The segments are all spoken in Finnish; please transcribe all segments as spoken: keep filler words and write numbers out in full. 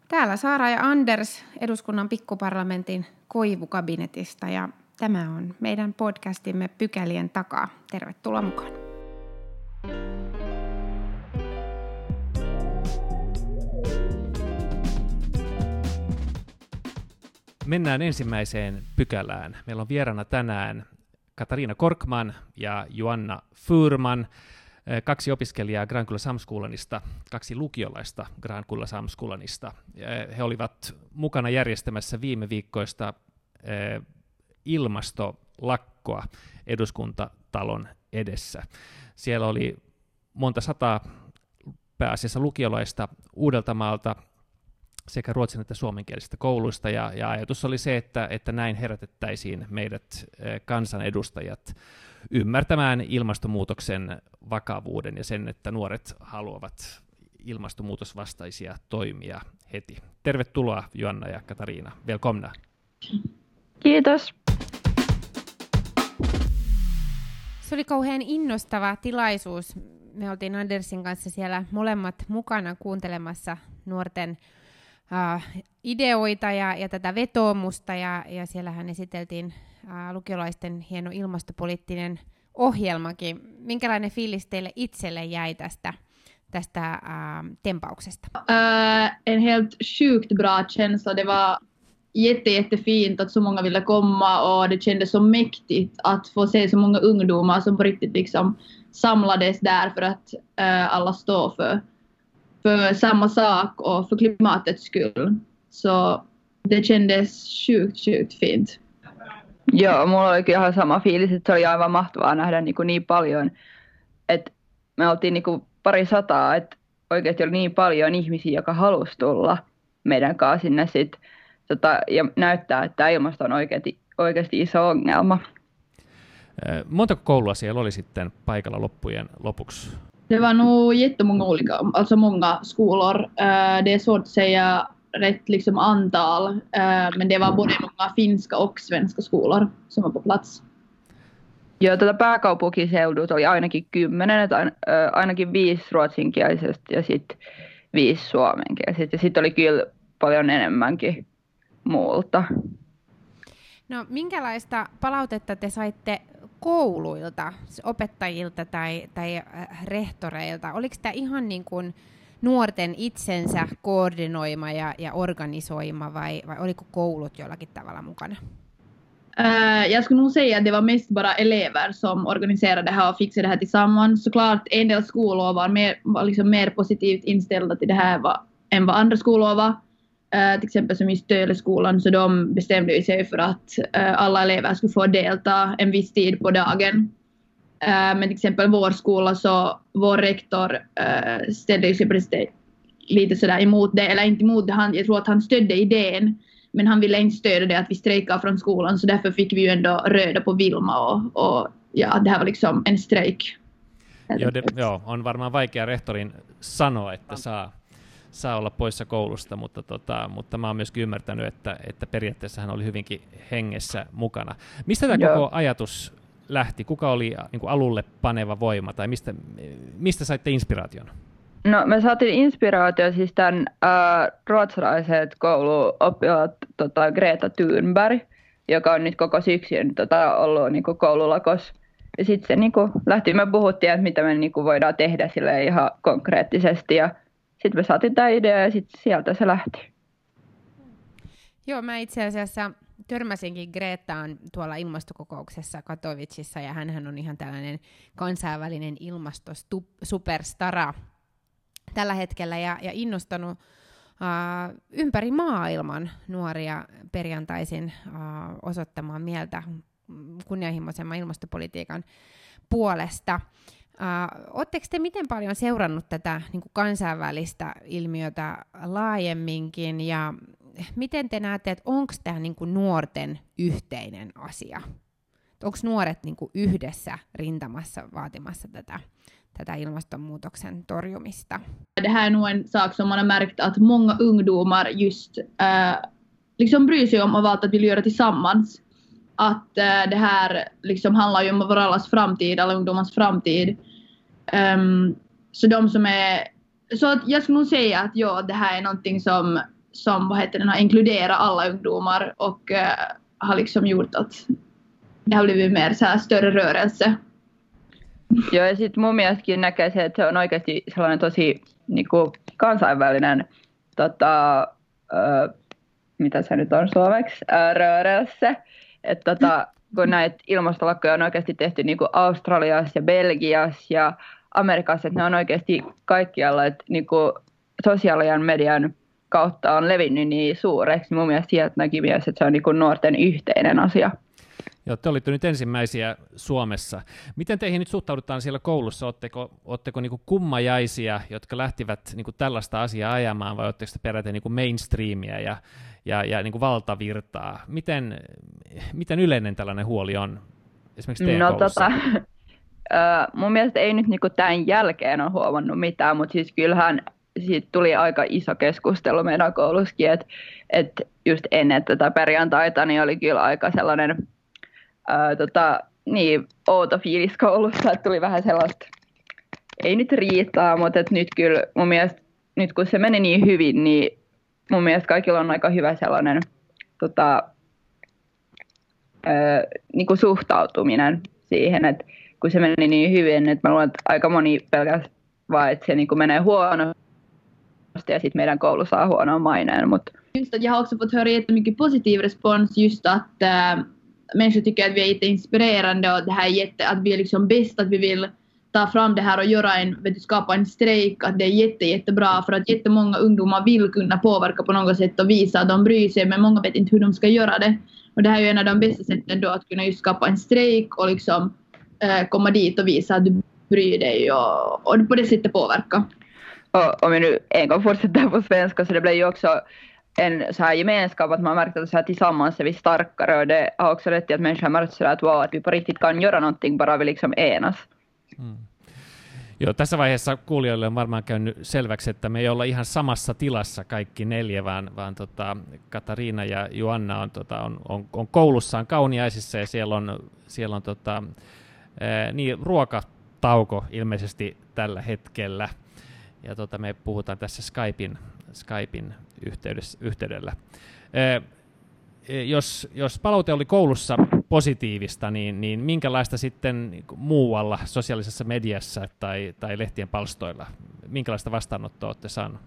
Täällä Saara ja Anders eduskunnan pikkuparlamentin koivukabinetista ja tämä on meidän podcastimme Pykälien takaa. Tervetuloa mukaan. Mennään ensimmäiseen pykälään. Meillä on vieraana tänään Katariina Korkman ja Joanna Furman, kaksi opiskelijaa Grankulla Samskolanista, kaksi lukiolaista Grankulla Samskolanista. He olivat mukana järjestämässä viime viikkoista ilmastolakkoa eduskuntatalon edessä. Siellä oli monta sataa pääasiassa lukiolaista Uudeltamaalta sekä ruotsin että suomenkielisistä kouluista, ja, ja ajatus oli se, että, että näin herätettäisiin meidät kansanedustajat ymmärtämään ilmastonmuutoksen vakavuuden ja sen, että nuoret haluavat ilmastonmuutosvastaisia toimia heti. Tervetuloa Joanna ja Katariina. Välkomna. Kiitos. Se oli kauhean innostava tilaisuus. Me oltiin Andersin kanssa siellä molemmat mukana kuuntelemassa nuorten Uh, ideoita ja, ja tätä vetoomusta, ja, ja siellähän esiteltiin uh, lukiolaisten hieno ilmastopoliittinen ohjelmakin. Minkälainen fiilis teille itselle jäi tästä, tästä uh, tempauksesta? Uh, en helt sjukt bra känsla. Det var jätte, jättefint att så många ville komma, och det kändes så mäktigt att få se så många ungdomar som på riktigt liksom samlades där för att uh, alla står för för samma sak och för klimatets skull. Så det kändes sjukt, sjukt fint. Joo, mulla oli ihan sama fiilis, että se oli aivan mahtavaa nähdä niin, kuin niin paljon. Että me oltiin niin kuin pari sataa, että oikeasti oli niin paljon ihmisiä, jotka halusi tulla meidän kanssa sinne sit, tota, ja näyttää, että ilmasto on oikeasti, oikeasti iso ongelma. Montako koulua siellä oli sitten paikalla loppujen lopuksi? Det var nog jättemånga olika, alltså många skolor. Uh, det är svårt att säga rätt liksom antal, uh, men det var både många finska och svenska skolor som var på plats. Joo, tätä pääkaupunkiseudut oli ainakin kymmenen, että ain, äh, ainakin viisi ruotsinkielisestä ja sitten viisi suomenkielisestä. Ja sitten oli kyllä paljon enemmänkin muulta. No, minkälaista palautetta te saitte kouluilta, opettajilta tai, tai rehtoreilta? Oliko tämä ihan niin kuin nuorten itsensä koordinoima ja, ja organisoima, vai, vai oliko koulut jollakin tavalla mukana? Uh, jag skulle nog säga att det var mest bara elever som organiserade det här och fixade det här tillsammans. Såklart en del skolor var mer, var liksom mer positivt inställda till det här var, än vad andra skolor var. Uh, till exempel som i Stöleskolan, så de bestämde sig för att uh, alla elever skulle få delta en viss tid på dagen. Uh, men till exempel vår skola, så vår rektor uh, ställde sig precis lite sådär emot det, eller inte emot det, han, jag tror att han stödde idén, men han ville inte stödja det att vi strejkar från skolan, så därför fick vi ju ändå röda på Vilma, och, och ja, det här var liksom en strejk. Joo, det, joo, on varmaan vaikea rehtorin sanoa, että saa saa olla poissa koulusta, mutta, tota, mutta mä oon myöskin ymmärtänyt, että, että periaatteessa hän oli hyvinkin hengessä mukana. Mistä tämä koko ajatus lähti? Kuka oli niin kuin alulle paneva voima, tai mistä, mistä saitte inspiraation? No, me saatiin inspiraatio siis tämän äh, ruotsalaiset kouluoppilaat tota, Greta Thunberg, joka on nyt koko syksyn tota, ollut niin kuin koululakos. Ja sitten se niin kuin lähti, me puhuttiin, että mitä me niin kuin voidaan tehdä sille ihan konkreettisesti, ja sitten me saatiin tämä idea ja sitten sieltä se lähti. Joo, mä itse asiassa törmäsinkin Gretaan tuolla ilmastokokouksessa Katowicessa, ja hänhän on ihan tällainen kansainvälinen ilmastosuperstara tällä hetkellä, ja, ja innostanut uh, ympäri maailman nuoria perjantaisin uh, osoittamaan mieltä kunnianhimoisemman ilmastopolitiikan puolesta. Uh, Oletteko te miten paljon seurannut tätä niin kuin kansainvälistä ilmiötä laajemminkin, ja miten te näette, että onko tämä niin kuin nuorten yhteinen asia? Onko nuoret niin kuin yhdessä rintamassa vaatimassa tätä, tätä ilmastonmuutoksen torjumista? Det här är nog en sak som man har märkt att många ungdomar just äh, liksom bryr sig om och valt att vill göra tillsammans. Att äh, det här liksom handlar ju om vår allas framtid, alla ungdomars framtid. Um, så de som är, så att jag skulle nog säga att ja, det här är någonting som, som vad heter den, har inkluderat alla ungdomar och uh, har liksom gjort att det har blivit mer så här större rörelse. Joo, ja sitten mun mielestäkin näkee se, että se on oikeasti sellainen tosi niin kuin kansainvälinen, tota, ö, mitä se nyt on suomeksi, ö, rörelse. Että tota, kun näitä ilmastolakkoja on oikeasti tehty niin kuin Australiassa ja Belgiassa ja Amerikassa, että ne on oikeasti kaikkialla, että niin kuin sosiaalisen median kautta on levinnyt niin suureksi. Mun mielestä sieltä näki myös, että se on niin kuin nuorten yhteinen asia. Joo, te olitte nyt ensimmäisiä Suomessa. Miten teihin nyt suhtaudutaan siellä koulussa? Oletteko, oletteko niin kuin kummajaisia, jotka lähtivät niin kuin tällaista asiaa ajamaan, vai oletteko te peräti niin kuin mainstreamia ja, ja, ja niin kuin valtavirtaa? Miten, miten yleinen tällainen huoli on esimerkiksi teidän no, koulussa? Tota, äh, mun mielestä ei nyt niin kuin tämän jälkeen ole huomannut mitään, mutta siis kyllähän siitä tuli aika iso keskustelu meidän koulussakin, että et just ennen tätä perjantaita niin oli kyllä aika sellainen Ää, tota, niin, outo fiilis koulussa, että tuli vähän sellaista, ei nyt riittää, mutta et nyt kyllä mun mielestä, nyt kun se meni niin hyvin, niin mun mielestä kaikilla on aika hyvä sellainen tota, ää, niin kuin suhtautuminen siihen, että kun se meni niin hyvin, että mä luulen, että aika moni pelkästään vaan, että se niin kuin menee huonosti ja sitten meidän koulu saa huonoa maineen. Mutta just att jag har också fått höra jättemycket positiv respons just att äh, människor tycker att vi är jätteinspirerande och det här är jätte, att vi är liksom bäst, att vi vill ta fram det här och göra en, vet du, skapa en strejk, att det är jätte, jättebra för att jättemånga ungdomar vill kunna påverka på något sätt och visa att de bryr sig, men många vet inte hur de ska göra det. Och det här är ju en av de bästa sätten då att kunna just skapa en strejk och liksom äh, komma dit och visa att du bryr dig och, och på det sättet påverka. Och om vi nu en gång fortsätter på svenska, så det blir ju också en så här gemenskap, att man märker att så här tillsammans är vi starkare, och det har också rätt till att människor märker så att, wow, att vi på riktigt kan göra någonting bara vi liksom enas. Mm. Joo, tässä vaiheessa kuulijoille on varmaan käynyt selväksi, että me ei olla ihan samassa tilassa kaikki neljä, vaan, vaan tota, Katariina ja Joanna on, tota, on, on, on koulussaan Kauniaisissa, ja siellä on, siellä on tota, ää, niin, ruokatauko ilmeisesti tällä hetkellä. Ja tota, me puhutaan tässä Skypein, Skypein yhteydessä, yhteydellä. Ee, jos, jos palaute oli koulussa positiivista, niin, niin minkälaista sitten niin muualla sosiaalisessa mediassa tai, tai lehtien palstoilla, minkälaista vastaanottoa olette saaneet?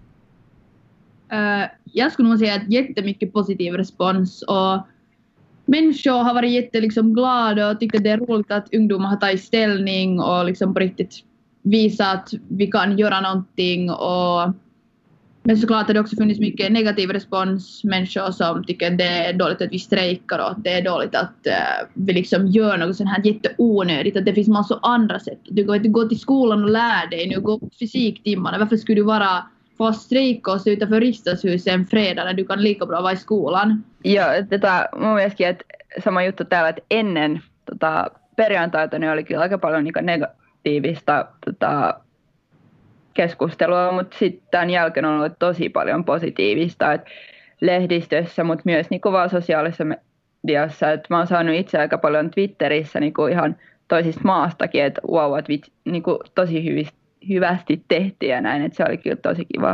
Uh, jag skulle nog säga att jättemycket positiv respons och människor har varit jätte liksom glada och tyckt att det är roligt att ungdomar har tagit ställning och liksom på riktigt visa att vi kan göra någonting. Och men såklart har det också funnits mycket negativ respons, människor som tycker att det är dåligt att vi strejkar och att det är dåligt att uh, vi liksom gör något sånt här jätteonödigt, att det finns massor andra sätt. Du går inte gå till skolan och lär dig, nu gå på fysiktimmarna, varför skulle du vara få strejka och se utanför riksdagshuset en fredag när du kan lika bra vara i skolan? Joo, tätä mun mielestäkin, että sama juttu täällä, että ennen tota, perjantaita niin oli kyllä aika paljon niin negatiivista tota, keskustelua, mutta sitten tämän jälkeen on ollut tosi paljon positiivista, että lehdistössä, mutta myös niin vaan sosiaalisessa mediassa, että mä oon saanut itse aika paljon Twitterissä niin ihan toisista maastakin, että wow, että vit, niin tosi hyvistä, hyvästi tehtiin ja näin, että se oli kyllä tosi kivaa.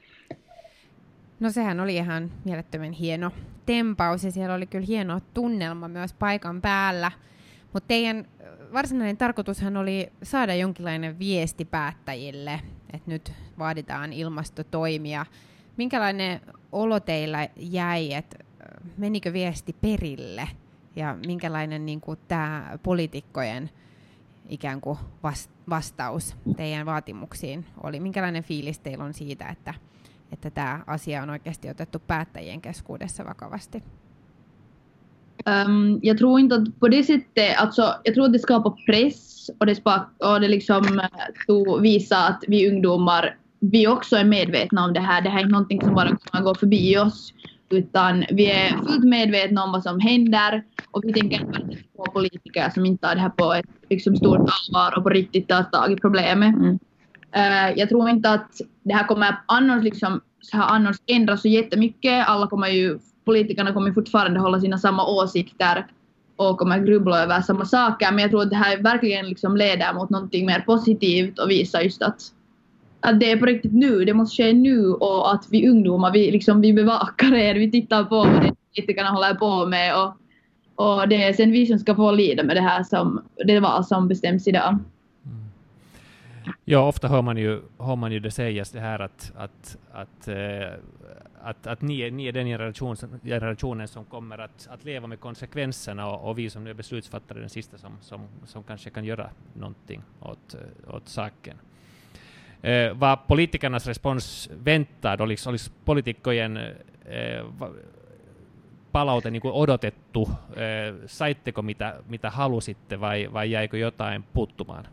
No sehän oli ihan mielettömän hieno tempaus ja siellä oli kyllä hieno tunnelma myös paikan päällä, mutta teidän varsinainen tarkoitushan oli saada jonkinlainen viesti päättäjille, että nyt vaaditaan ilmastotoimia. Minkälainen olo teillä jäi, että menikö viesti perille ja minkälainen niin kuin tämä poliitikkojen ikään kuin vastaus teidän vaatimuksiin oli? Minkälainen fiilis teillä on siitä, että, että tämä asia on oikeasti otettu päättäjien keskuudessa vakavasti? Um, jag tror inte att på det sättet, alltså, jag tror att det skapar press och det, spak, och det liksom uh, visar att vi ungdomar, vi också är medvetna om det här. Det här är inte någonting som bara kommer gå förbi oss, utan vi är fullt medvetna om vad som händer och vi tänker inte på politiker som inte tar det här på ett liksom, stort allvar och på riktigt tar tag i problemet. Mm. Uh, jag tror inte att det här kommer annars, liksom, så här annars ändras så jättemycket. Alla kommer ju Politikerna kommer fortfarande hålla sina samma åsikter och kommer grubbla över samma saker. Men jag tror att det här verkligen liksom leder mot någonting mer positivt och visar just att att det är på riktigt nu, det måste ske nu och att vi ungdomar, vi, liksom, vi bevakar er, vi tittar på vad det politikerna håller på med och, och det är sen vi som ska få lida med det här som det var som bestäms idag. Mm. Ja, ofta hör man ju, hör man ju det sägas det här att, att, att, eh, att, att ni, ni är den generation, generationen som kommer att, att leva med konsekvenserna och, och vi som nu är beslutsfattare den sista som, som, som kanske kan göra någonting åt, åt saken. Eh, vad politikernas respons väntar, oliko, oliko poliitikkojen eh, palaute niin kuin odotettu, eh, saitteko mitä, mitä halusitte vai, vai jäikö jotain puuttumaan?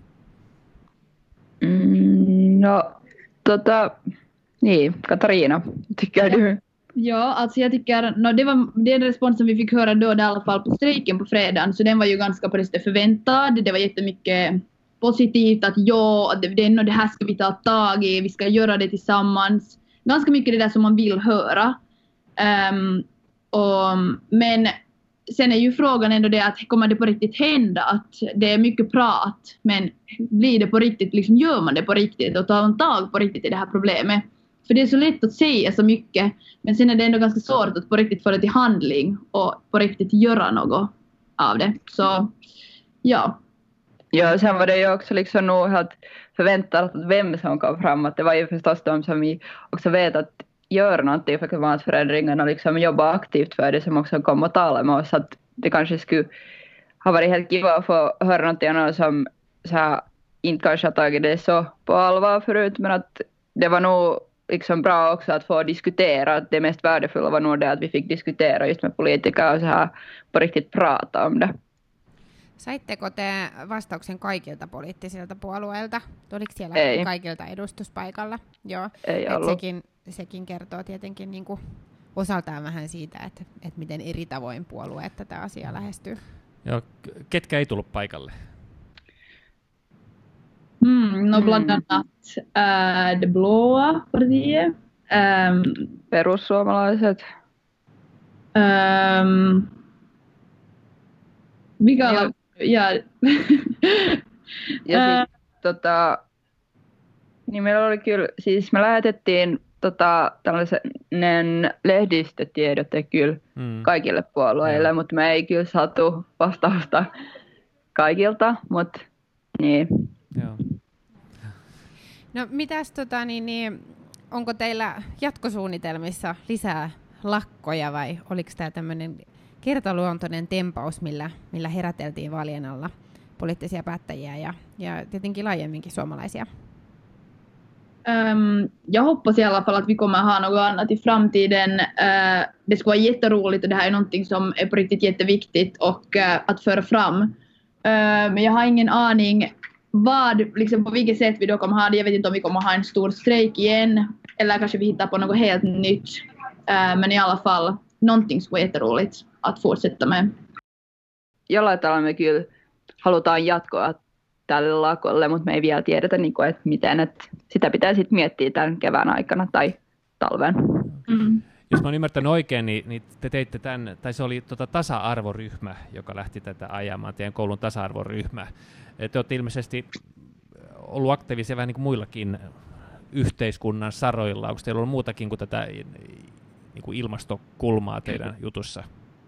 Mm, no, tota, niin, Katarina, tycker du? Ja, alltså jag tycker, no, det var den responsen vi fick höra då i alla fall på strejken på fredagen, så den var ju ganska på det förväntad. Det var jättemycket positivt att ja, att det, det här ska vi ta tag i, vi ska göra det tillsammans. Ganska mycket det där som man vill höra. Um, och, men sen är ju frågan ändå det att kommer det på riktigt hända, att det är mycket prat, men blir det på riktigt, liksom gör man det på riktigt och tar man tag på riktigt i det här problemet? För det är så lätt att säga så mycket, men sen är det ändå ganska svårt att på riktigt få det till handling och på riktigt göra något av det. Så ja. Ja, sen var det ju också liksom nog helt förväntat att vem som kom fram, att det var ju förstås de som vi också vet att gör någonting för klimatförändringarna och liksom jobba aktivt för det som också kom och tala med oss, att det kanske skulle ha varit helt kiva att få höra någonting annat som så här, inte kanske har tagit det så på allvar förut, men att det var nog liksom bra också att få diskutera, att det mest värdefulla var nog det att vi fick diskutera just med politiker och så här på riktigt prata om det. Saitteko te vastauksen kaikilta poliittisilta puolueilta? Oliko siellä Ei. kaikilta edustuspaikalla? Joo. Ei Et ollut. sekin, sekin kertoo tietenkin niin kuin osaltaan vähän siitä, että, että miten eri tavoin puolueet tätä asiaa lähestyy. Joo, ketkä ei tullut paikalle? Mm, no bland annat äh, det blåa partiet. Ähm, Perussuomalaiset. ähm, mikä Joo. on? Ja, Ja Ää. sit, tota, niin meillä oli kyllä, siis me lähetettiin tota, tällainen lehdistötiedote kyllä Mm. kaikille puolueille, Joo. mutta me ei kyllä saatu vastausta kaikilta, mutta niin. Joo. No mitäs tota, niin, niin, onko teillä jatkosuunnitelmissa lisää lakkoja vai oliko tämä tämmöinen kertaluontoinen tempaus, millä, millä heräteltiin vaalien alla poliittisia päättäjiä ja, ja tietenkin laajemminkin suomalaisia? ähm, jag hoppas i alla fall att vi kommer ha något annat i framtiden. Äh, det skulle vara jätteroligt och det här är någonting som är på riktigt jätteviktigt och äh, att föra fram. Äh, men jag har ingen aning vad, liksom på vilket sätt vi då kommer ha det. Jag vet inte om vi kommer ha en stor strejk igen eller kanske vi hittar på något helt nytt. Äh, men i alla fall någonting skulle vara jätteroligt att fortsätta med. Jollain tavalla me kyllä halutaan jatkoa tälle lakolle, mutta me ei vielä tiedetä, niin kuin, että miten. Että sitä pitää sitten miettiä tämän kevään aikana tai talven. Mm. Jos mä oon ymmärtänyt oikein, niin, niin te teitte tämän, tai se oli tota tasa-arvoryhmä, joka lähti tätä ajamaan, teidän koulun tasa-arvoryhmä. Te olette ilmeisesti ollut aktiivisia vähän niin kuin muillakin yhteiskunnan saroilla. Onko teillä ollut muutakin kuin tätä niin kuin ilmastokulmaa teidän jutussa?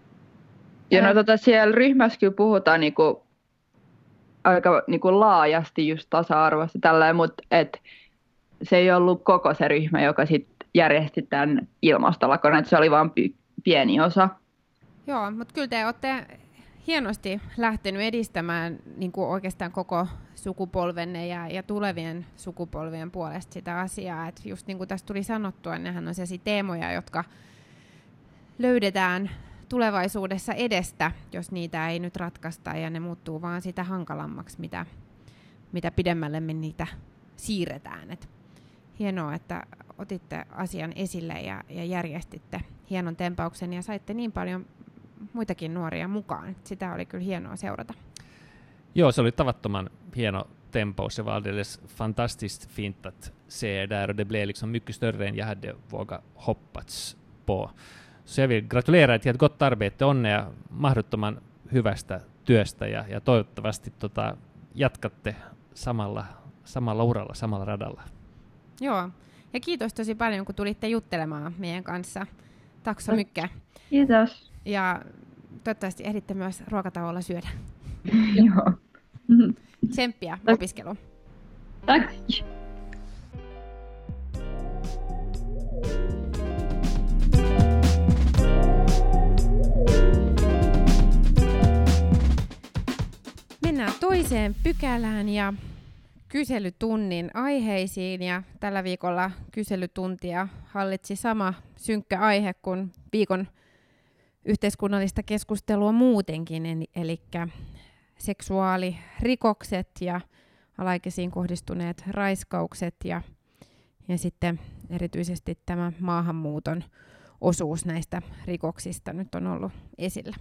Ja no tota, siellä ryhmässä kyllä puhutaan niinku aika niinku laajasti just tasa-arvosta tällä, mutta et se ei ollut koko se ryhmä, joka sitten järjesti tämän ilmastolakon, että se oli vain py- pieni osa. Joo, mutta kyllä te olette hienosti lähtenyt edistämään niin kuin oikeastaan koko sukupolvenne ja, ja tulevien sukupolvien puolesta sitä asiaa. Et just niin kuin tässä tuli sanottua, nehän on sellaisia teemoja, jotka löydetään tulevaisuudessa edestä, jos niitä ei nyt ratkaista ja ne muuttuu vaan sitä hankalammaksi, mitä, mitä pidemmälle me niitä siirretään. Et hienoa, että otitte asian esille ja, ja järjestitte hienon tempauksen ja saitte niin paljon muitakin nuoria mukaan. Sitä oli kyllä hienoa seurata. Joo, se oli tavattoman hieno tempaus. Det var alldeles fantastiskt fint att se er där och det blev liksom mycket större än jag hade vågat hoppats på. Så jag vill gratulera er till ett gott arbete, onnea mahdottoman hyvästä työstä ja, ja toivottavasti tota, jatkatte samalla, samalla uralla, samalla radalla. Joo, ja kiitos tosi paljon, kun tulitte juttelemaan meidän kanssa. Tack så mycket. Kiitos. Ja toivottavasti ehditte myös ruokatauolla syödä. Joo. Tsemppiä opiskeluun. Tack. Mennään toiseen pykälään ja kyselytunnin aiheisiin. Ja tällä viikolla kyselytuntia hallitsi sama synkkä aihe kuin viikon yhteiskunnallista keskustelua muutenkin, eli seksuaalirikokset ja alaikäisiin kohdistuneet raiskaukset ja, ja sitten erityisesti tämä maahanmuuton osuus näistä rikoksista nyt on ollut esillä.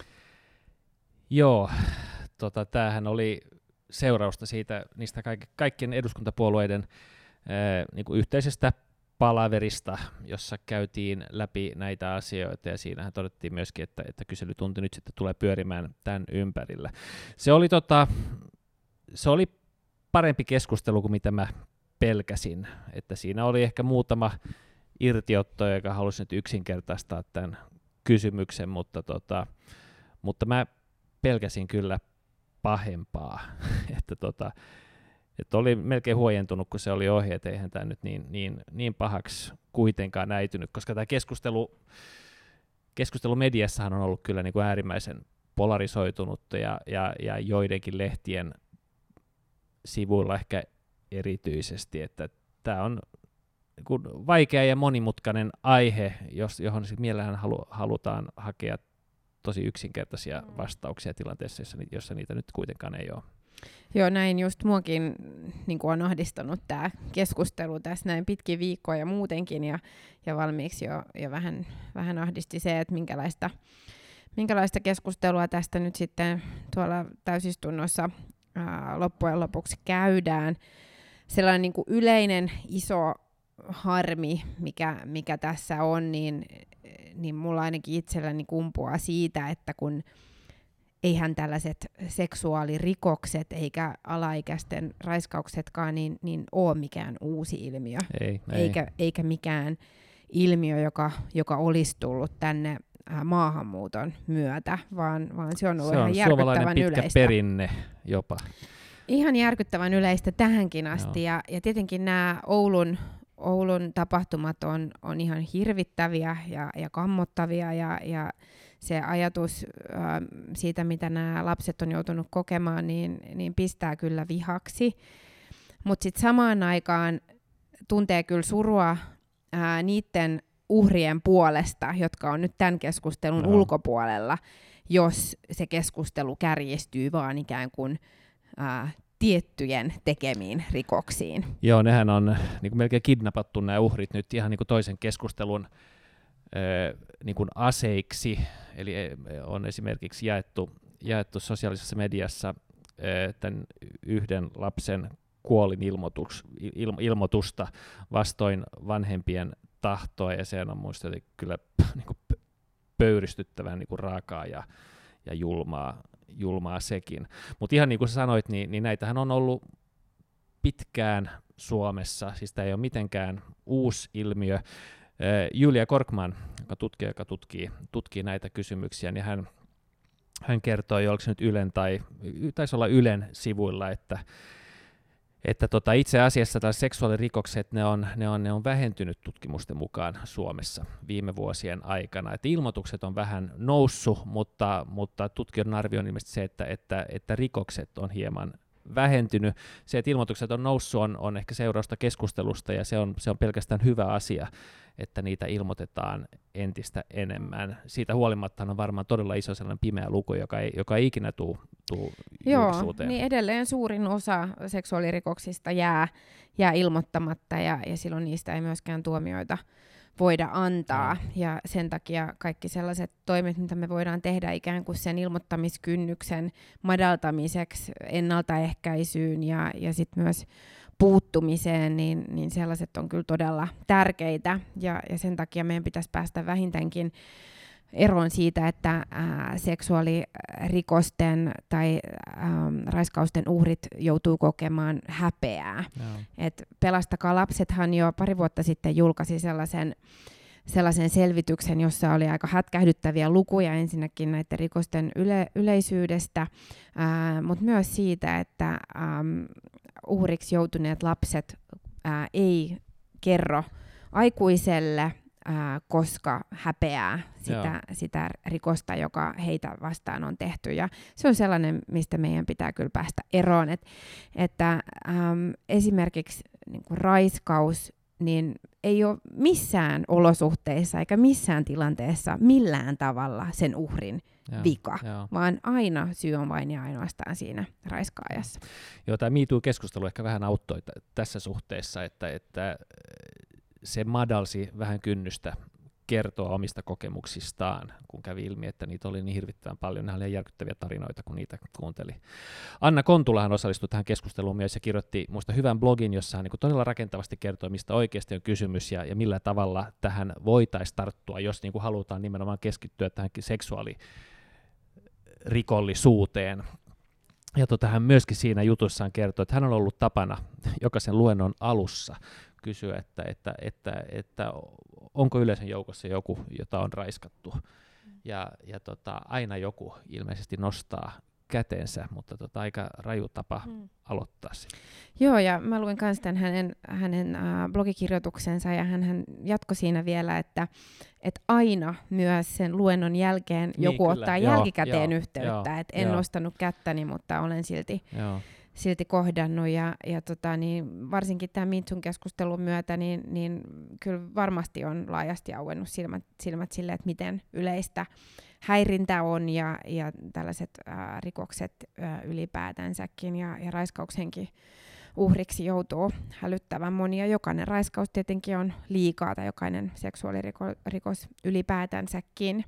Joo, tota, tämähän oli seurausta siitä niistä kaik- kaikkien eduskuntapuolueiden ää, niin kuin yhteisestä palaverista, jossa käytiin läpi näitä asioita, ja siinähän todettiin myöskin, että, että kyselytunti nyt sitten tulee pyörimään tämän ympärillä. Se oli, tota, se oli parempi keskustelu kuin mitä mä pelkäsin, että siinä oli ehkä muutama irtiotto, joka halusi nyt yksinkertaistaa tämän kysymyksen, mutta, tota, mutta mä pelkäsin kyllä pahempaa, että tota, että oli melkein huojentunut, kun se oli ohi, että eihän tämä nyt niin, niin, niin pahaksi kuitenkaan näytynyt, koska tämä keskustelu, keskustelu mediassahan on ollut kyllä niin kuin äärimmäisen polarisoitunutta ja, ja, ja joidenkin lehtien sivuilla ehkä erityisesti, että tämä on niin kuin vaikea ja monimutkainen aihe, jos, johon mielellään halu, halutaan hakea tosi yksinkertaisia vastauksia tilanteessa, jossa, jossa niitä nyt kuitenkaan ei ole. Joo, näin just muakin niin kuin on ahdistanut tämä keskustelu tässä näin pitkin viikkoja ja muutenkin, ja, ja valmiiksi jo, jo vähän, vähän ahdisti se, että minkälaista, minkälaista keskustelua tästä nyt sitten tuolla täysistunnossa ää, loppujen lopuksi käydään. Sellainen niin kuin yleinen iso harmi, mikä, mikä tässä on, niin, niin mulla ainakin itselläni kumpuaa siitä, että kun eihän tällaiset seksuaalirikokset eikä alaikäisten raiskauksetkaan niin, niin ole mikään uusi ilmiö, ei, eikä, ei. eikä mikään ilmiö, joka, joka olisi tullut tänne maahanmuuton myötä, vaan, vaan se on ollut se ihan on järkyttävän pitkä yleistä. perinne jopa. Ihan järkyttävän yleistä tähänkin asti, ja, ja tietenkin nämä Oulun, Oulun tapahtumat on, on ihan hirvittäviä ja, ja kammottavia, ja, ja se ajatus äh, siitä, mitä nämä lapset on joutunut kokemaan, niin, niin pistää kyllä vihaksi. Mutta sitten samaan aikaan tuntee kyllä surua äh, niiden uhrien puolesta, jotka on nyt tämän keskustelun no. ulkopuolella, jos se keskustelu kärjistyy vaan ikään kuin äh, tiettyjen tekemiin rikoksiin. Joo, nehän on niin kuin melkein kidnappattu nämä uhrit nyt ihan niin kuin toisen keskustelun niin kuin aseiksi, eli on esimerkiksi jaettu, jaettu sosiaalisessa mediassa tämän yhden lapsen kuolinilmoitus, il, ilmoitusta vastoin vanhempien tahtoa, ja se on muista kyllä niin kuin pöyristyttävän niin kuin raakaa ja, ja julmaa, julmaa sekin. Mutta ihan niin kuin sä sanoit, niin, niin näitähän on ollut pitkään Suomessa, siis tämä ei ole mitenkään uusi ilmiö. Julia Korkman, joka tutkii, joka tutkii, tutkii näitä kysymyksiä, niin hän, hän kertoi, oliko se nyt Ylen tai taisi olla Ylen sivuilla, että, että tota, itse asiassa tällaiset seksuaalirikokset, ne on, ne, on, ne on vähentynyt tutkimusten mukaan Suomessa viime vuosien aikana. Että ilmoitukset on vähän noussut, mutta, mutta tutkijoiden arvio on ilmeisesti se, että, että, että rikokset on hieman vähentynyt. Se, että ilmoitukset on noussut, on, on ehkä seurausta keskustelusta, ja se on, se on pelkästään hyvä asia, että niitä ilmoitetaan entistä enemmän. Siitä huolimatta on varmaan todella iso sellainen pimeä luku, joka ei, joka ei ikinä tule julkisuuteen. Joo, niin edelleen suurin osa seksuaalirikoksista jää, jää ilmoittamatta, ja, ja silloin niistä ei myöskään tuomioita voida antaa, mm. ja sen takia kaikki sellaiset toimet, mitä me voidaan tehdä ikään kuin sen ilmoittamiskynnyksen madaltamiseksi, ennaltaehkäisyyn ja, ja sitten myös puuttumiseen, niin, niin sellaiset on kyllä todella tärkeitä, ja, ja sen takia meidän pitäisi päästä vähintäänkin eroon siitä, että ää, seksuaalirikosten tai ää, raiskausten uhrit joutuu kokemaan häpeää. No. Et Pelastakaa lapsethan jo pari vuotta sitten julkaisi sellaisen, sellaisen selvityksen, jossa oli aika hätkähdyttäviä lukuja ensinnäkin näiden rikosten yle, yleisyydestä, mutta myös siitä, että ää, uhriksi joutuneet lapset ää, ei kerro aikuiselle, Ää, koska häpeää sitä, sitä rikosta, joka heitä vastaan on tehty. Ja se on sellainen, mistä meidän pitää kyllä päästä eroon. Et, että äm, esimerkiksi niin kuin raiskaus niin ei ole missään olosuhteissa eikä missään tilanteessa millään tavalla sen uhrin Joo, vika, jo. vaan aina syy on vain ja ainoastaan siinä raiskaajassa. Joo, tämä Me Too-keskustelu ehkä vähän auttoi t- tässä suhteessa, että, että se madalsi vähän kynnystä kertoa omista kokemuksistaan, kun kävi ilmi, että niitä oli niin hirvittävän paljon. Nämä oli järkyttäviä tarinoita, kun niitä kuunteli. Anna Kontulahan osallistui tähän keskusteluun myös ja kirjoitti minusta hyvän blogin, jossa hän niin todella rakentavasti kertoi, mistä oikeasti on kysymys ja, ja millä tavalla tähän voitaisiin tarttua, jos niin kuin halutaan nimenomaan keskittyä tähän seksuaalirikollisuuteen. Ja tota, hän myöskin siinä jutussaan kertoi, että hän on ollut tapana jokaisen luennon alussa kysyä, että, että, että, että onko yleisön joukossa joku, jota on raiskattu. Ja, ja tota, aina joku ilmeisesti nostaa käteensä, mutta tota, aika raju tapa hmm. aloittaa se. Joo, ja mä luin myös tämän hänen, hänen äh, blogikirjoituksensa, ja hän, hän jatkoi siinä vielä, että, että aina myös sen luennon jälkeen niin, joku kyllä. ottaa joo, jälkikäteen joo, yhteyttä, että en joo. nostanut kättäni, mutta olen silti... Joo. silti kohdannut, ja, ja tota, niin varsinkin tämän Me Toon keskustelun myötä, niin, niin kyllä varmasti on laajasti auennut silmät, silmät sille, että miten yleistä häirintä on, ja, ja tällaiset ää, rikokset ää, ylipäätänsäkin, ja, ja raiskauksenkin uhriksi joutuu hälyttävän monia. Jokainen raiskaus tietenkin on liikaa, tai jokainen seksuaalirikos ylipäätänsäkin.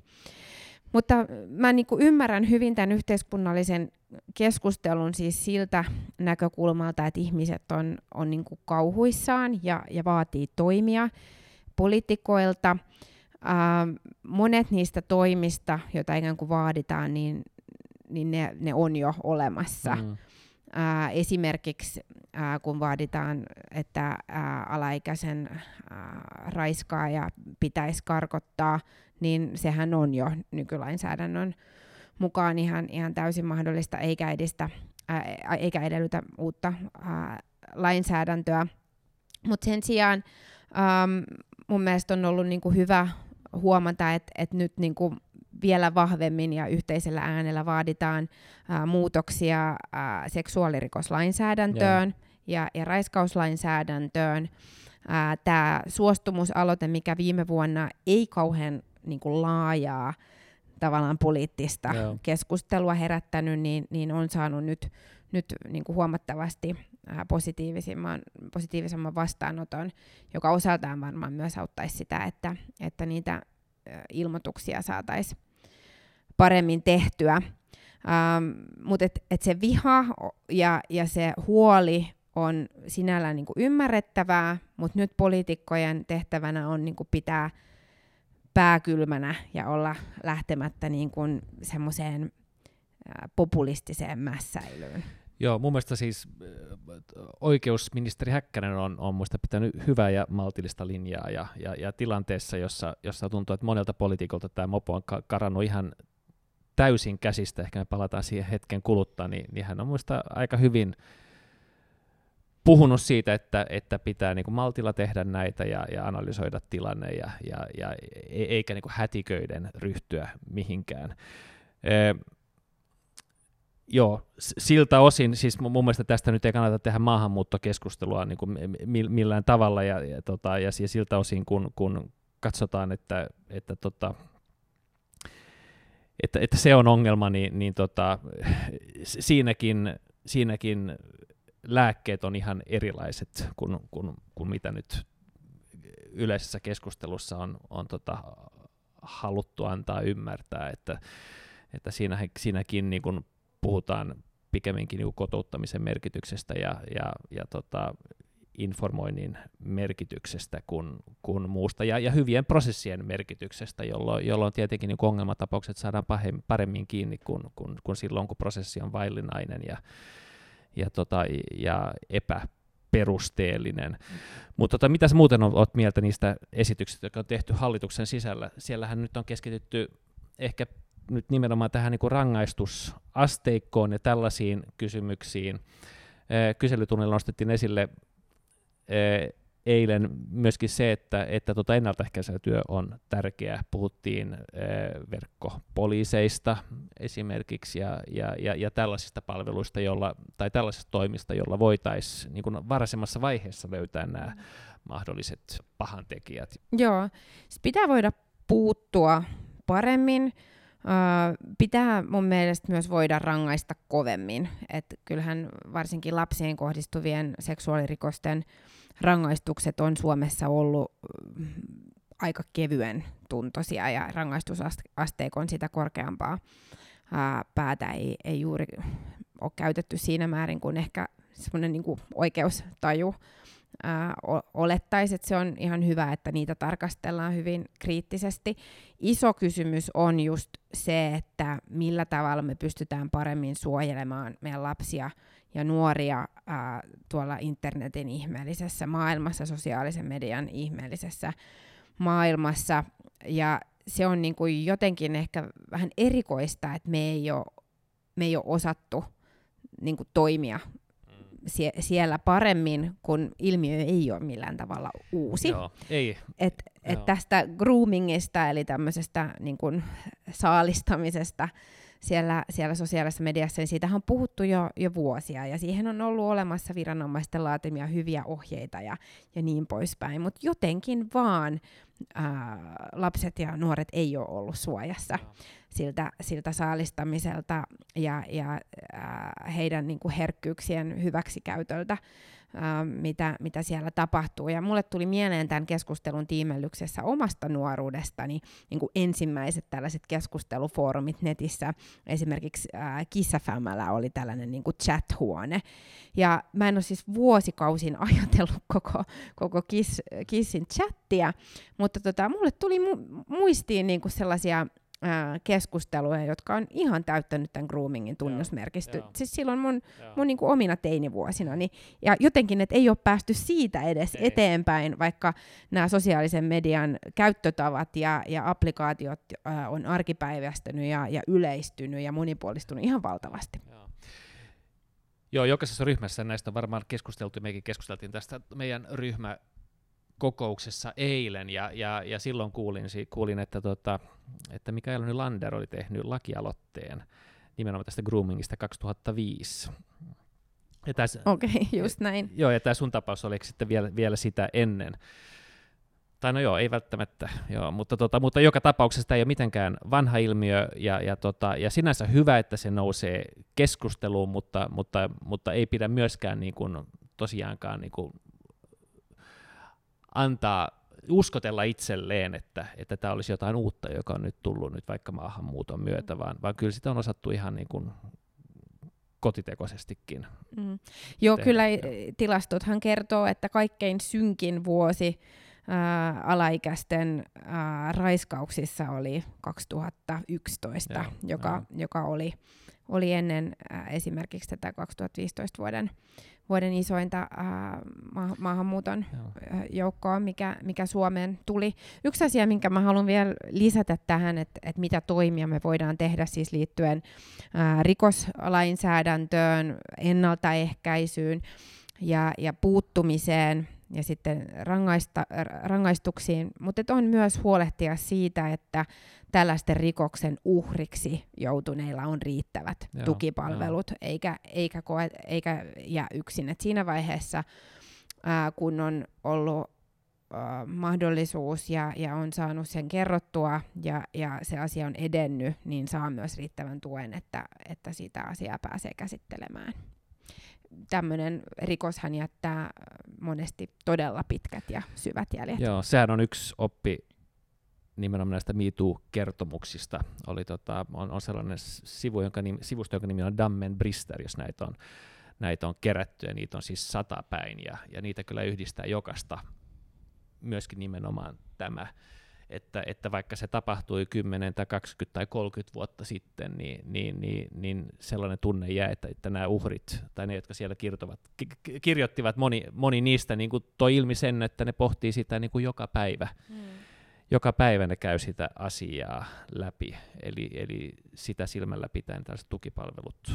Mutta mä niin kuin ymmärrän hyvin tämän yhteiskunnallisen keskustelun siis siltä näkökulmalta, että ihmiset on, on niin kuin kauhuissaan ja, ja vaatii toimia poliitikoilta. Ää, monet niistä toimista, joita ikään kuin vaaditaan, niin, niin ne, ne on jo olemassa. Mm. Ää, esimerkiksi ää, kun vaaditaan, että ää, alaikäisen ää, raiskaaja pitäisi karkottaa, niin sehän on jo nykylainsäädännön mukaan ihan, ihan täysin mahdollista, eikä, edistä, ää, eikä edellytä uutta ää, lainsäädäntöä. Mutta sen sijaan äm, mun mielestä on ollut niinku hyvä huomata, että et nyt niinku vielä vahvemmin ja yhteisellä äänellä vaaditaan ää, muutoksia ää, seksuaalirikoslainsäädäntöön ja, ja raiskauslainsäädäntöön. Tämä suostumusaloite, mikä viime vuonna ei kauhean niin kuin laajaa tavallaan poliittista Joo. keskustelua herättänyt, niin, niin on saanut nyt, nyt niin kuin huomattavasti positiivisemman, positiivisemman vastaanoton, joka osaltaan varmaan myös auttaisi sitä, että, että niitä ilmoituksia saataisiin paremmin tehtyä. Ähm, mutta et, et se viha ja, ja se huoli on sinällään niin kuin ymmärrettävää, mutta nyt poliitikkojen tehtävänä on niin kuin pitää pää kylmänä ja olla lähtemättä niin kuin semmoiseen populistiseen mässäilyyn. Joo, mun mielestä siis oikeusministeri Häkkänen on, on muista pitänyt hyvää ja maltillista linjaa, ja, ja, ja tilanteessa, jossa, jossa tuntuu, että monelta poliitikolta tämä mopo on karannut ihan täysin käsistä, ehkä me palataan siihen hetken kuluttaa, niin, niin hän on muista aika hyvin puhunut siitä, että, että pitää niin kuin maltilla tehdä näitä ja, ja analysoida tilanne, ja, ja, ja eikä niin kuin hätiköiden ryhtyä mihinkään. E, joo, siltä osin, siis mun mielestä tästä nyt ei kannata tehdä maahanmuuttokeskustelua niin kuin millään tavalla, ja, ja, tota, ja siltä osin, kun, kun katsotaan, että, että, tota, että, että se on ongelma, niin, niin tota, siinäkin, siinäkin lääkkeet on ihan erilaiset kuin, kuin, kuin mitä nyt yleisessä keskustelussa on, on tota, haluttu antaa ymmärtää, että, että siinä, siinäkin niin kuin puhutaan pikemminkin niin kuin kotouttamisen merkityksestä ja, ja, ja tota, informoinnin merkityksestä kuin, kuin muusta, ja, ja hyvien prosessien merkityksestä, jolloin, jolloin tietenkin niin ongelmatapaukset saadaan paremmin kiinni kuin, kuin, kuin silloin, kun prosessi on vaillinainen ja, ja, tota, ja epäperusteellinen. Mm. Mutta tota, mitä sä muuten olet mieltä niistä esityksistä, jotka on tehty hallituksen sisällä? Siellähän nyt on keskitytty ehkä nyt nimenomaan tähän niin kuin rangaistusasteikkoon ja tällaisiin kysymyksiin. Kyselytunnilla nostettiin esille eilen myöskin se, että, että tuota ennaltaehkäisevä työ on tärkeää. Puhuttiin verkkopoliiseista esimerkiksi ja, ja, ja, ja tällaisista palveluista, jolla, tai tällaisista toimista, joilla voitaisiin niin kuin varhaisemmassa vaiheessa löytää nämä mahdolliset pahantekijät. Joo, pitää voida puuttua paremmin. Uh, pitää mun mielestä myös voida rangaista kovemmin. Et kyllähän varsinkin lapsiin kohdistuvien seksuaalirikosten rangaistukset on Suomessa ollut uh, aika kevyen tuntoisia ja rangaistusasteikon sitä korkeampaa uh, päätä ei, ei juuri ole käytetty siinä määrin kuin ehkä semmoinen niinku oikeustaju Uh, olettaisi, että se on ihan hyvä, että niitä tarkastellaan hyvin kriittisesti. Iso kysymys on just se, että millä tavalla me pystytään paremmin suojelemaan meidän lapsia ja nuoria uh, tuolla internetin ihmeellisessä maailmassa, sosiaalisen median ihmeellisessä maailmassa. Ja se on niin kuin jotenkin ehkä vähän erikoista, että me ei ole, me ei ole osattu niin kuin toimia Sie- siellä paremmin, kun ilmiö ei ole millään tavalla uusi. Joo, ei. Et, et Joo. tästä groomingista, eli tämmöisestä niin kun, saalistamisesta siellä, siellä sosiaalisessa mediassa, niin siitähän on puhuttu jo, jo vuosia, ja siihen on ollut olemassa viranomaisten laatimia hyviä ohjeita ja, ja niin poispäin, mutta jotenkin vaan ää, lapset ja nuoret ei ole ollut suojassa siltä, siltä saalistamiselta ja, ja ää, heidän niin kuin herkkyyksien hyväksikäytöltä, ää, mitä, mitä siellä tapahtuu. Ja mulle tuli mieleen tämän keskustelun tiimellyksessä omasta nuoruudestani niin kuin ensimmäiset tällaiset keskustelufoorumit netissä. Esimerkiksi ää, Kiss F M:llä oli tällainen niin kuin chat-huone. Ja mä en ole siis vuosikausin ajatellut koko, koko Kiss, Kissin chattia, mutta tota, mulle tuli mu- muistiin niin kuin sellaisia keskusteluja, jotka on ihan täyttänyt tämän groomingin tunnusmerkistö. Siis silloin mun, mun niin kuin omina teinivuosinani. Ja jotenkin, että ei ole päästy siitä edes ei. eteenpäin, vaikka nämä sosiaalisen median käyttötavat ja, ja applikaatiot äh, on arkipäiväistynyt ja, ja yleistynyt ja monipuolistunut ihan valtavasti. Joo. Joo, jokaisessa ryhmässä näistä on varmaan keskusteltu, mekin keskusteltiin tästä meidän ryhmä kokouksessa eilen, ja, ja, ja silloin kuulin, kuulin että, tota, että Mikaela Nylander oli tehnyt lakialoitteen nimenomaan tästä groomingista kaksituhattaviisi. Okei, okay, just näin. Joo, ja tämä sun tapaus oli sitten vielä, vielä sitä ennen. Tai no joo, ei välttämättä, joo, mutta, tota, mutta joka tapauksessa tämä ei ole mitenkään vanha ilmiö, ja, ja, tota, ja sinänsä hyvä, että se nousee keskusteluun, mutta, mutta, mutta ei pidä myöskään niin kuin, tosiaankaan niin kuin, antaa uskotella itselleen, että, että tämä olisi jotain uutta, joka on nyt tullut nyt vaikka maahanmuuton myötä, vaan, vaan kyllä sitä on osattu ihan niin kuin kotitekoisestikin. Mm. Joo, tehdä. Kyllä tilastothan kertoo, että kaikkein synkin vuosi ää, alaikäisten ää, raiskauksissa oli kaksituhattayksitoista, ja, joka, ja. joka oli, oli ennen ää, esimerkiksi tätä kaksituhattaviisitoista vuoden vuoden isointa ää, ma- maahanmuuton ää, joukkoa, mikä, mikä Suomeen tuli. Yksi asia, minkä mä haluan vielä lisätä tähän, että et mitä toimia me voidaan tehdä siis liittyen ää, rikoslainsäädäntöön, ennaltaehkäisyyn ja, ja puuttumiseen ja sitten rangaista, rangaistuksiin, mutta on myös huolehtia siitä, että tällaisten rikoksen uhriksi joutuneilla on riittävät joo, tukipalvelut, joo. eikä, eikä, koe, eikä jää yksin. Et siinä vaiheessa, ää, kun on ollut ää, mahdollisuus ja, ja on saanut sen kerrottua ja, ja se asia on edennyt, niin saa myös riittävän tuen, että, että sitä asiaa pääsee käsittelemään. Tämmöinen rikoshan jättää monesti todella pitkät ja syvät jäljet. Joo, sehän on yksi oppi nimenomaan näistä MeToo-kertomuksista. Oli tota, on, on sellainen sivu, jonka nimi, sivusto, jonka nimi on Dammen Brister, jos näitä on, näitä on kerätty, ja niitä on siis satapäin, ja, ja niitä kyllä yhdistää jokasta myöskin nimenomaan tämä, että, että vaikka se tapahtui kymmenen tai kaksikymmentä tai kolmekymmentä vuotta sitten, niin, niin, niin, niin sellainen tunne jää, että, että nämä uhrit tai ne, jotka siellä kirjoittivat, ki- kirjoittivat moni, moni niistä niin kuin toi ilmi sen, että ne pohtii sitä niin kuin joka päivä. Mm. Joka päivä ne käy sitä asiaa läpi, eli, eli sitä silmällä pitäen tällaiset tukipalvelut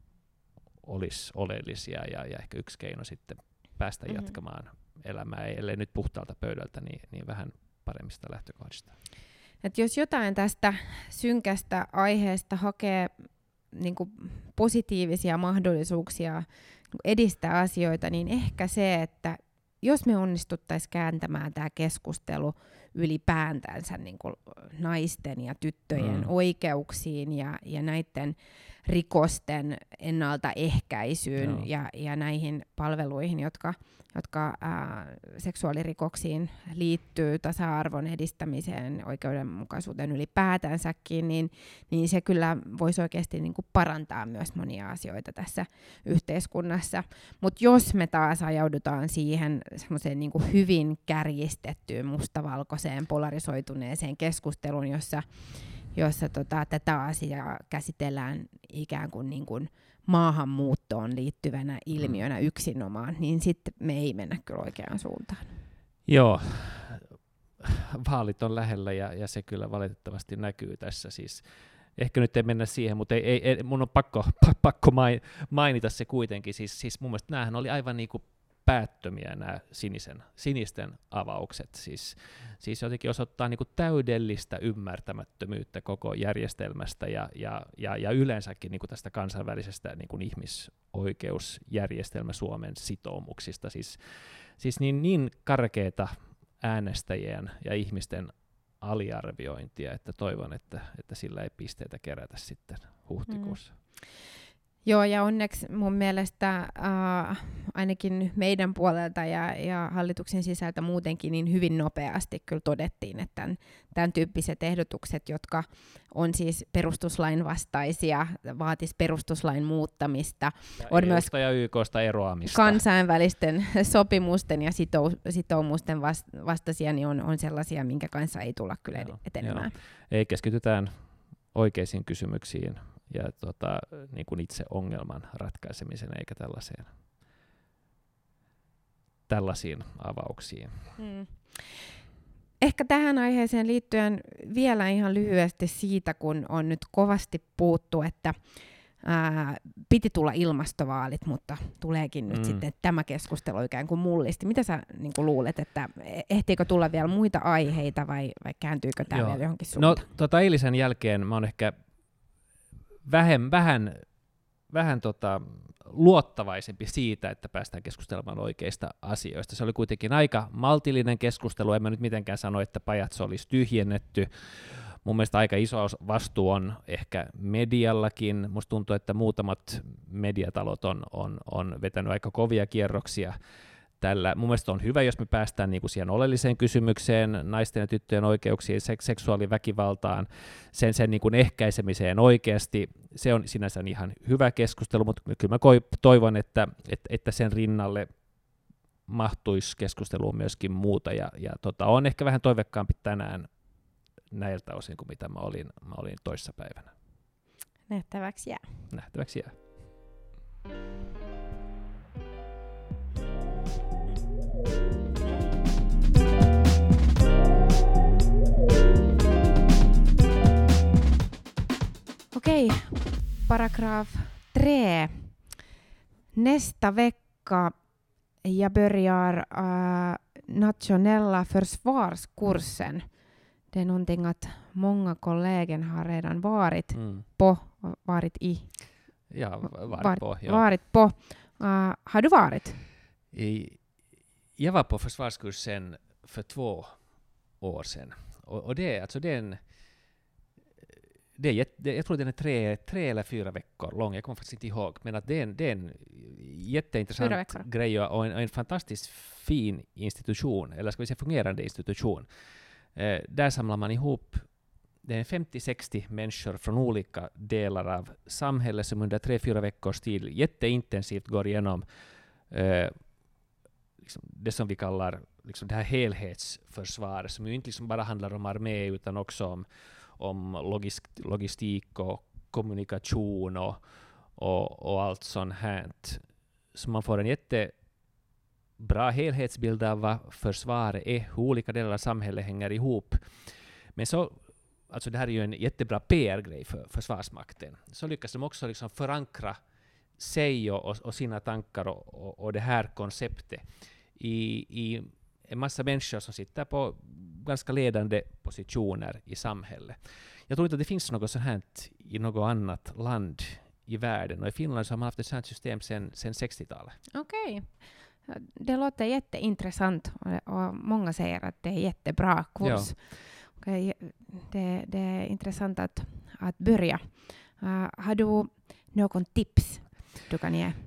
olisi oleellisia ja, ja ehkä yksi keino sitten päästä mm-hmm. jatkamaan elämää, ellei nyt puhtaalta pöydältä, niin, niin vähän paremmista lähtökohdista. Et jos jotain tästä synkästä aiheesta hakee niin kuin positiivisia mahdollisuuksia edistää asioita, niin ehkä se, että jos me onnistuttaisiin kääntämään tämä keskustelu ylipäätänsä niin kuin naisten ja tyttöjen mm. oikeuksiin ja, ja näiden rikosten ennaltaehkäisyyn ja, ja näihin palveluihin, jotka, jotka ää, seksuaalirikoksiin liittyy, tasa-arvon edistämiseen, oikeudenmukaisuuteen ylipäätänsäkin, niin, niin se kyllä voisi oikeasti niin kuin parantaa myös monia asioita tässä yhteiskunnassa. Mutta jos me taas ajaudutaan siihen semmoiseen niin kuin hyvin kärjistettyyn, mustavalkoiseen, polarisoituneeseen keskusteluun, jossa jossa tota, tätä asiaa käsitellään ikään kuin, niin kuin maahanmuuttoon liittyvänä ilmiönä yksinomaan, niin sitten me ei mennä kyllä oikeaan suuntaan. Joo, vaalit on lähellä ja, ja se kyllä valitettavasti näkyy tässä. Siis, ehkä nyt ei mennä siihen, mutta ei, ei, ei, mun on pakko, pakko mainita se kuitenkin. Siis, siis mun mielestä näähän oli aivan niin kuin päättömiä nämä sinisen, sinisten avaukset. Siis, siis jotenkin osoittaa niin kuin täydellistä ymmärtämättömyyttä koko järjestelmästä ja, ja, ja, ja yleensäkin niin kuin tästä kansainvälisestä niin kuin ihmisoikeusjärjestelmä Suomen sitoumuksista. Siis, siis niin, niin karkeata äänestäjien ja ihmisten aliarviointia, että toivon, että, että sillä ei pisteitä kerätä sitten huhtikuussa. Mm. Joo, ja onneksi mun mielestä äh, ainakin meidän puolelta ja, ja hallituksen sisältä muutenkin niin hyvin nopeasti kyllä todettiin, että tämän, tämän tyyppiset ehdotukset, jotka on siis perustuslain vastaisia, vaatis perustuslain muuttamista, ja on myös ja Y K:sta eroamista. Kansainvälisten sopimusten ja sitou- sitoumusten vastaisia, niin on, on sellaisia, minkä kanssa ei tulla kyllä joo, etenemään. Joo. Ei, keskitytään oikeisiin kysymyksiin ja tota, niin kuin itse ongelman ratkaisemiseen, eikä tällaiseen, tällaisiin avauksiin. Mm. Ehkä tähän aiheeseen liittyen vielä ihan lyhyesti siitä, kun on nyt kovasti puhuttu, että ää, piti tulla ilmastovaalit, mutta tuleekin nyt mm. sitten tämä keskustelu ikään kuin mullisti. Mitä sä niin kuin luulet, että ehtiikö tulla vielä muita aiheita vai, vai kääntyykö tämä vielä johonkin suuntaan? No tota eilisen jälkeen mä oon ehkä Vähän, vähän, vähän tota, luottavaisempi siitä, että päästään keskustelemaan oikeista asioista. Se oli kuitenkin aika maltillinen keskustelu, en mä nyt mitenkään sano, että pajatso olisi tyhjennetty. Mun mielestä aika iso vastuu on ehkä mediallakin. Musta tuntuu, että muutamat mediatalot on, on, on vetänyt aika kovia kierroksia tällä. Mun mielestä on hyvä, jos me päästään niinku siihen oleelliseen kysymykseen, naisten ja tyttöjen oikeuksiin, sek- seksuaaliväkivaltaan, sen, sen niinku ehkäisemiseen oikeasti. Se on sinänsä ihan hyvä keskustelu, mutta kyllä mä toivon, että, että, että sen rinnalle mahtuisi keskusteluun myöskin muuta. Ja, ja tota, on ehkä vähän toivekkaampi tänään näiltä osin kuin mitä mä olin, mä olin toissapäivänä. Nähtäväksi jää. Nähtäväksi jää. Okej, paragraf tre. Nästa vecka jag börjar äh, nationella försvarskursen. Det är någonting att många kollegor har redan varit mm. på, varit i. Ja, varit, varit på. Ja. Varit på. Uh, har du varit? I, jag var på försvarskursen för två år sedan. Och, och det, alltså det är en Det är, det, jag tror den är tre, tre eller fyra veckor lång, jag kommer faktiskt inte ihåg, men att det är en, det är en jätteintressant grej och en, en fantastiskt fin institution, eller ska vi säga fungerande institution. Eh, där samlar man ihop det är femtio sextio människor från olika delar av samhället som under tre fyra veckors tid jätteintensivt går igenom eh, liksom det som vi kallar liksom det här helhetsförsvaret, som ju inte liksom bara handlar om armé utan också om, om logist, logistik och kommunikation och, och, och allt sånt här. Så man får en jättebra helhetsbild av vad försvaret är, hur olika delar av samhället hänger ihop. Men så, alltså det här är ju en jättebra P R-grej för Försvarsmakten. Så lyckas de också liksom förankra sig och, och, och sina tankar och, och, och det här konceptet i, i en massa människor som sitter på ganska ledande positioner i samhället. Jag tror inte att det finns något sånt här i något annat land i världen. Och i Finland så har man haft ett sånt system sedan sextiotalet. Okej. Okay. Det låter jätteintressant och, och många säger att det är jättebra kurs. Ja. Okay. Det, det är intressant att, att börja. Uh, har du någon tips du kan ge?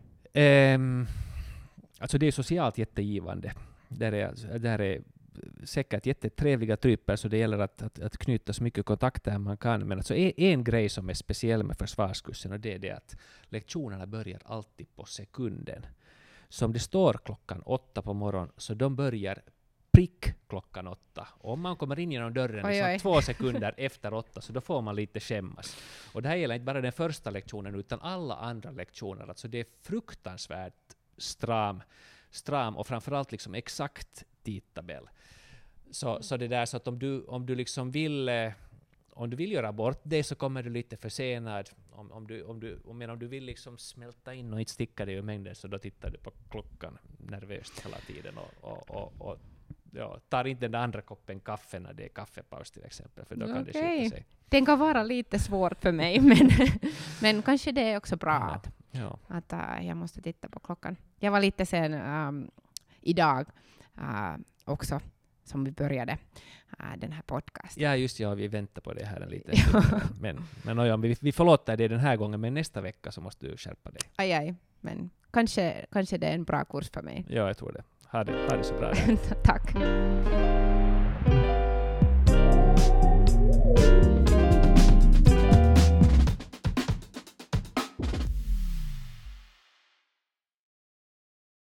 Um, alltså det är socialt jättegivande. Där är, där är säkert jättetrevliga typer, så det gäller att, att, att knyta så mycket kontakter man kan. Men alltså en, en grej som är speciell med försvarskursen, och det är det att lektionerna börjar alltid på sekunden. Så om det står klockan åtta på morgonen, så de börjar prick klockan åtta. Och om man kommer in genom dörren oj, liksom oj. två sekunder efter åtta, så då får man lite skämmas. Och det här gäller inte bara den första lektionen utan alla andra lektioner. Alltså det är fruktansvärt stram, stram och framförallt liksom exakt tidtabell. Så, så det där så att om du, om du liksom vill eh, om du vill göra bort det, så kommer du lite försenad. Om, om, du, om, du, om, om du vill liksom smälta in och inte sticka dig ur mängden, så då tittar du på klockan nervöst hela tiden och, och, och, och ja, tar inte den andra koppen kaffe när det är kaffepaus till exempel, för då kan okay. det skita sig. Den kan vara lite svårt för mig, men, men kanske det är också bra ja. att, ja. att uh, jag måste titta på klockan. Jag var lite sen um, idag uh, också, som vi började uh, den här podcasten. Ja, just ja, vi väntar på det här en liten stund. Men, men oj, vi, vi förlåter det den här gången, men nästa vecka så måste du skärpa dig. Aj, aj. Men kanske, kanske det är en bra kurs för mig. Ja, jag tror det. Ha det, ha det så bra. Tack.